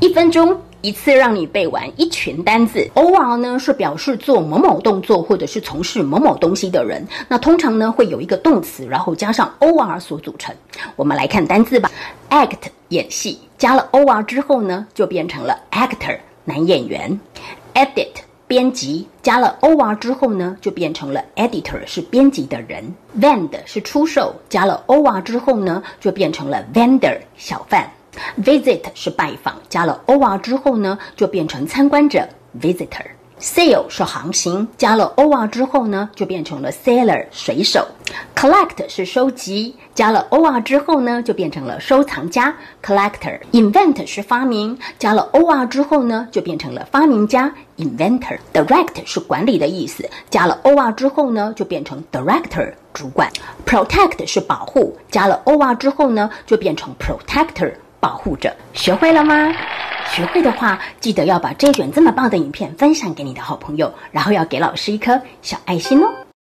1分钟一次让你背完一群单字。 OR 呢是表示做某某动作或者是从事某某东西的人，那通常呢会有一个动词，然后加上 OR 所组成。我们来看单字吧。 Act 演戏，加了 OR 之后呢就变成了 actor 男演员。 Edit 编辑，加了 OR 之后呢就变成了 editor 是编辑的人。 Vend 是出售，加了 OR 之后呢就变成了 vendor 小贩。Visit 是拜访，加了 OR 之后呢就变成参观者 visitor。 Sail 是航行，加了 OR 之后呢就变成了 sailor 水手。 Collect 是收集，加了 OR 之后呢就变成了收藏家 collector。 Invent 是发明，加了 OR 之后呢就变成了发明家 inventor。 Direct 是管理的意思，加了 OR 之后呢就变成 director 主管。 Protect 是保护，加了 OR 之后呢就变成 protector 保护者。学会了吗？学会的话，记得要把这卷这么棒的影片分享给你的好朋友，然后要给老师一颗小爱心哦。